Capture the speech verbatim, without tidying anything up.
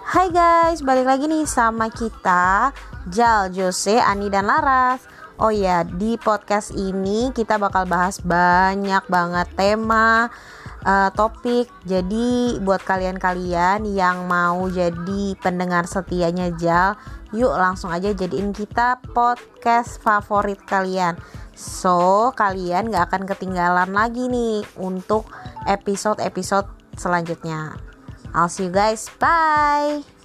Hai guys, balik lagi nih sama kita Jal, Jose, Ani, dan Laras. Oh ya, di podcast ini kita bakal bahas banyak banget tema, uh, topik. Jadi buat kalian-kalian yang mau jadi pendengar setianya Jal, yuk langsung aja jadiin kita podcast favorit kalian. So, kalian gak akan ketinggalan lagi nih untuk episode-episode selanjutnya. I'll see you guys. Bye.